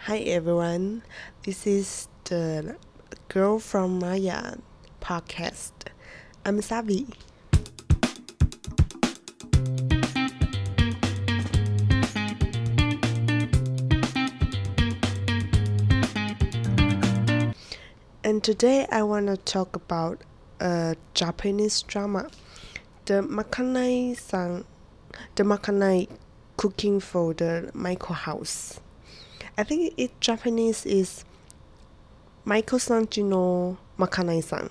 Hi everyone, this is the Girl from Maya podcast. I'm Savi. And today I want to talk about a Japanese drama, the Makanai cooking for the Michael house. I think it Japanese is Michael-san no Makanai-san.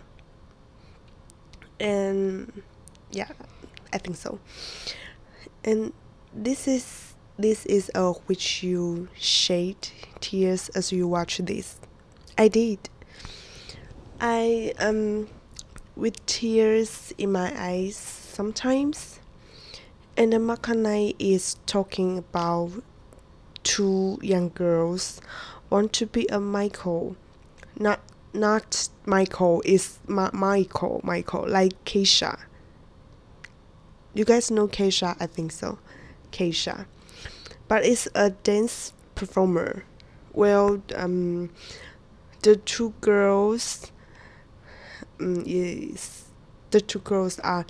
And yeah, I think so. And this is which you shed tears as you watch this. I did. I with tears in my eyes sometimes. And the Makanai is talking about two young girls want to be a Michael. Not Michael, is Michael, like Keisha. You guys know Keisha? I think so. Keisha. But it's a dance performer. Well, the two girls are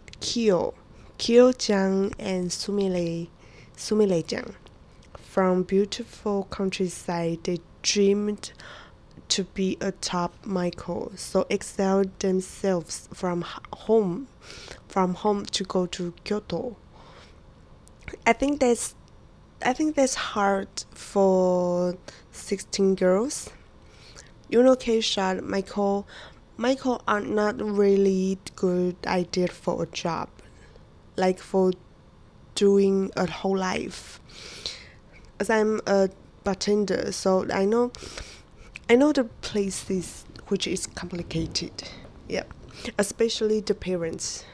Kyo-chan and Sumile-chan. From beautiful countryside, they dreamed to be a top Michael, so exiled themselves from home to go to Kyoto. I think that's hard for 16 girls. You know, Keisha, Michael are not really good idea for a job, like for doing a whole life. As I'm a bartender, so I know the places which is complicated. Yeah, especially the parents.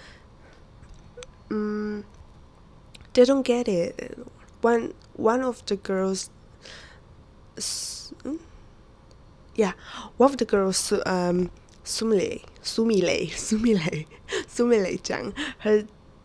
They don't get it. One of the girls, one of the girls, Sumile-chan, her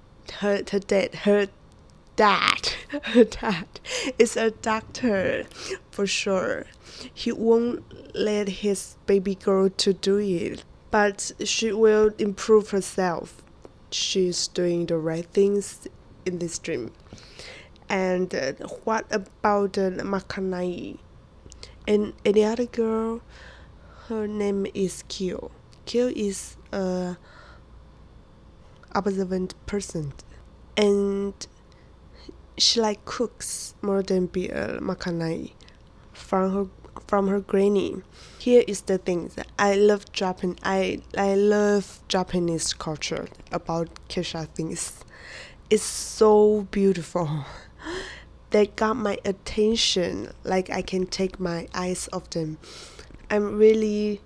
dad is a doctor for sure. He won't let his baby girl to do it, but she will improve herself. She's doing the right things in this dream. And what about the Makanai? And the other girl, her name is Kyo. Kyo is a observant person, and she like cooks more than be a Makanai from her granny. Here is the thing that I love I love Japanese culture about Keisha things. It's so beautiful. They got my attention, like I can take my eyes off them. I'm really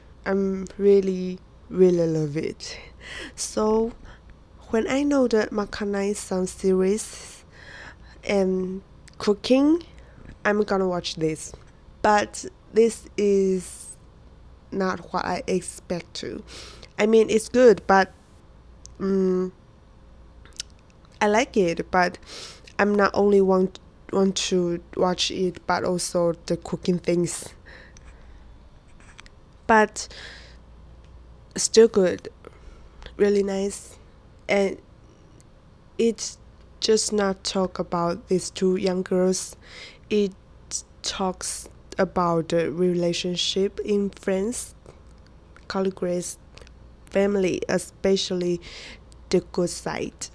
love it. So when I know that Makanai-san series and cooking, I'm gonna watch this. But this is not what I expect to. I mean, it's good, but I like it, but I'm not only want to watch it, but also the cooking things. But still good, really nice, and it's just not talk about these two young girls. It talks about the relationship in friends, colleagues, family, especially the good side.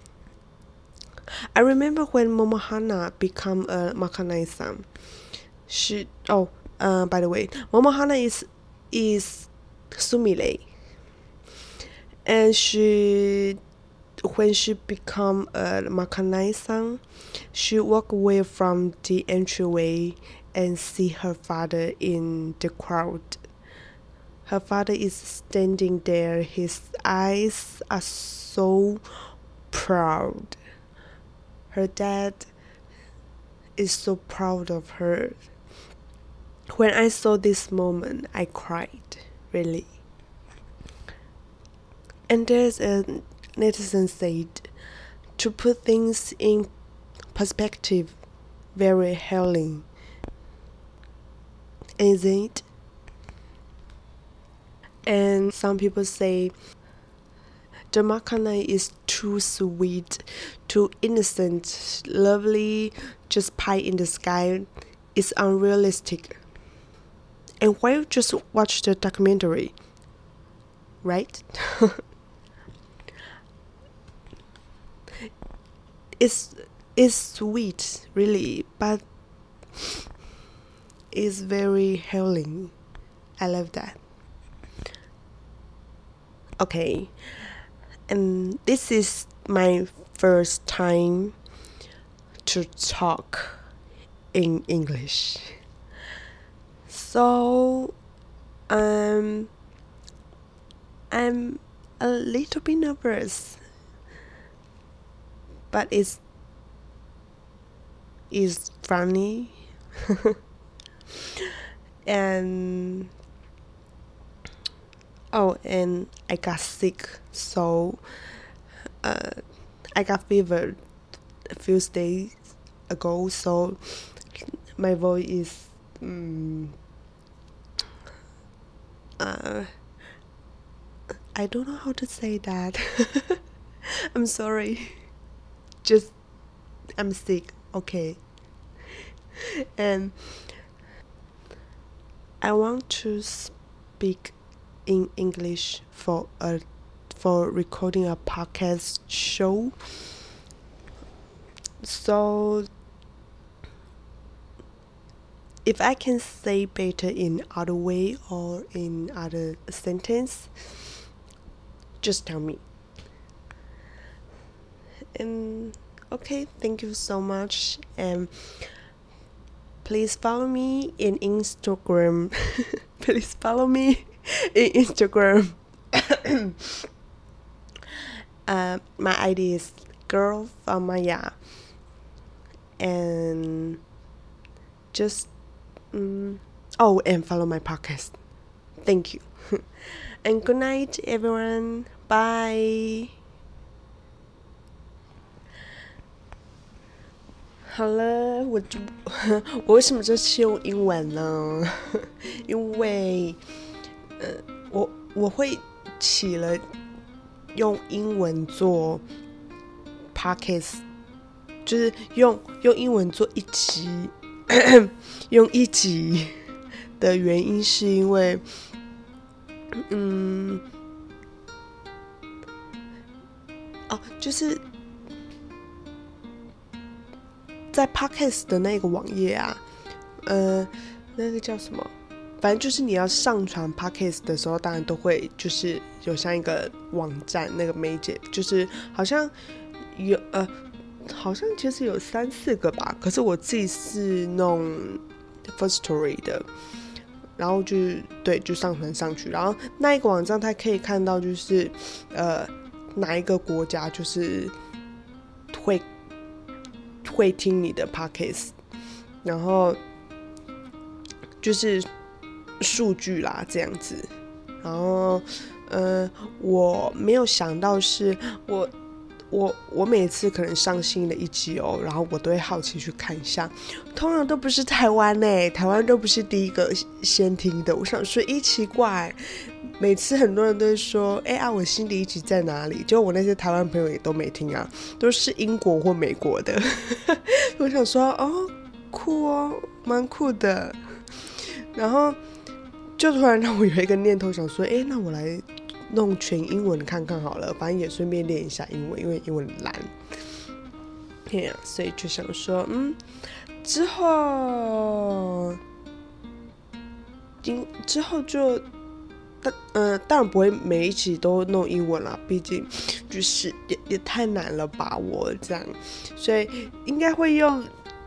I remember when Momohana become a Makanai-san. By the way, Momohana is Sumile, and when she become a Makanai-san, she walk away from the entryway and see her father in the crowd. Her father is standing there. His eyes are so proud. Her dad is so proud of her. When I saw this moment, I cried, really. And there's a netizen said, to put things in perspective, very healing. isn't it? And some people say the macaroni is too sweet, too innocent, lovely, just pie in the sky. It's unrealistic. And why you just watch the documentary, right? it's sweet, really, but it's very healing. I love that. Okay, and this is my first time to talk in English, so I'm a little bit nervous, but it's funny. And and I got sick, so I got fever a few days ago, so my voice is I don't know how to say that. I'm sorry. Just I'm sick, okay. And I want to speak in English for recording a podcast show. So if I can say better in other way or in other sentence, just tell me. And okay, thank you so much, and please follow me in Instagram. Please follow me in Instagram. My ID is Girl from Maya, and just and follow my podcast. Thank you. And good night, everyone. Bye. 好了，我为什么这次用英文呢？因为我会起了用英文做 podcast， 就是用英文做一集，用一集的原因是因为，就是在 podcast 的那个网页啊，那个叫什么？反正就是你要上传 podcast 的时候，当然都会就是有像一个网站，那个媒介就是好像有好像其实有3-4个吧，可是我自己是弄 Firstory 的，然后就上传上去，然后那一个网站它可以看到就是哪一个国家就是会听你的 podcast， 然后就是数据啦这样子。然后我没有想到是我每次可能上新的一集然后我都会好奇去看一下，通常都不是台湾台湾都不是第一个先听的。我想说奇怪，每次很多人都会说我新的一集在哪里，就我那些台湾朋友也都没听啊，都是英国或美国的。我想说酷蛮酷的，然后就突然让我有一个念头想说那我来弄全英文看看好了，反正也顺便练一下英文，因为英文很烂。所以就想说之后就当然不会每一集都弄英文啦，毕竟就是也太难了把握这样，所以应该会用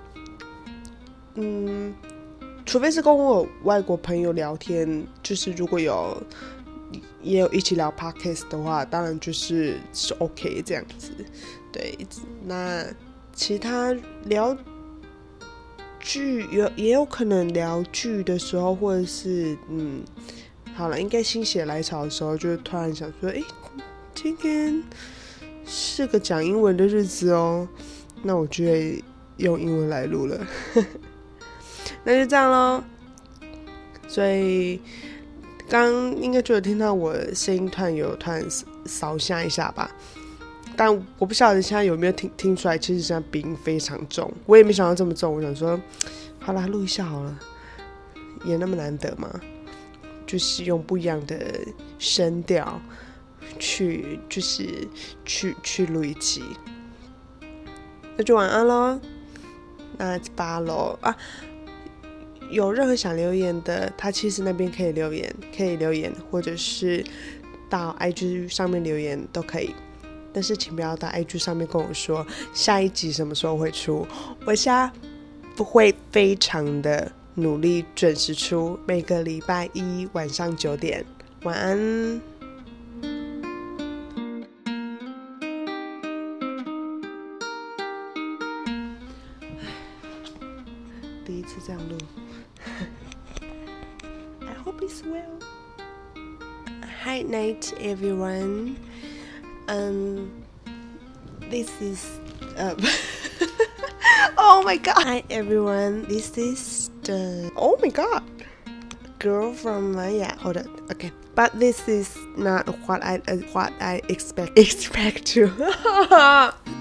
除非是跟我有外国朋友聊天，就是如果也有一起聊 podcast 的话，当然是 OK 这样子。对，那其他聊剧也有可能聊剧的时候，或者是好了，应该心血来潮的时候，就突然想说今天是个讲英文的日子那我就会用英文来录了。那就这样咯， 所以刚应该就有听到我声音突然扫下一下吧，但我不晓得现在有没有听出来，其实现在鼻音非常重，我也没想到这么重。我想说，好啦，录一下好了，也那么难得嘛，就是用不一样的声调去录一集，那就晚安咯，那8咯啊！有任何想留言的，他其实那边可以留言，或者是到 IG 上面留言都可以。但是请不要到 IG 上面跟我说下一集什么时候会出，我现在不会非常的努力准时出，每个礼拜一晚上9点。晚安。第一次这样录I hope it's well. Hi night everyone. This is oh my god. Hi everyone. This is the oh my god girl from Maya. Hold on. Okay. But this is not what I expect to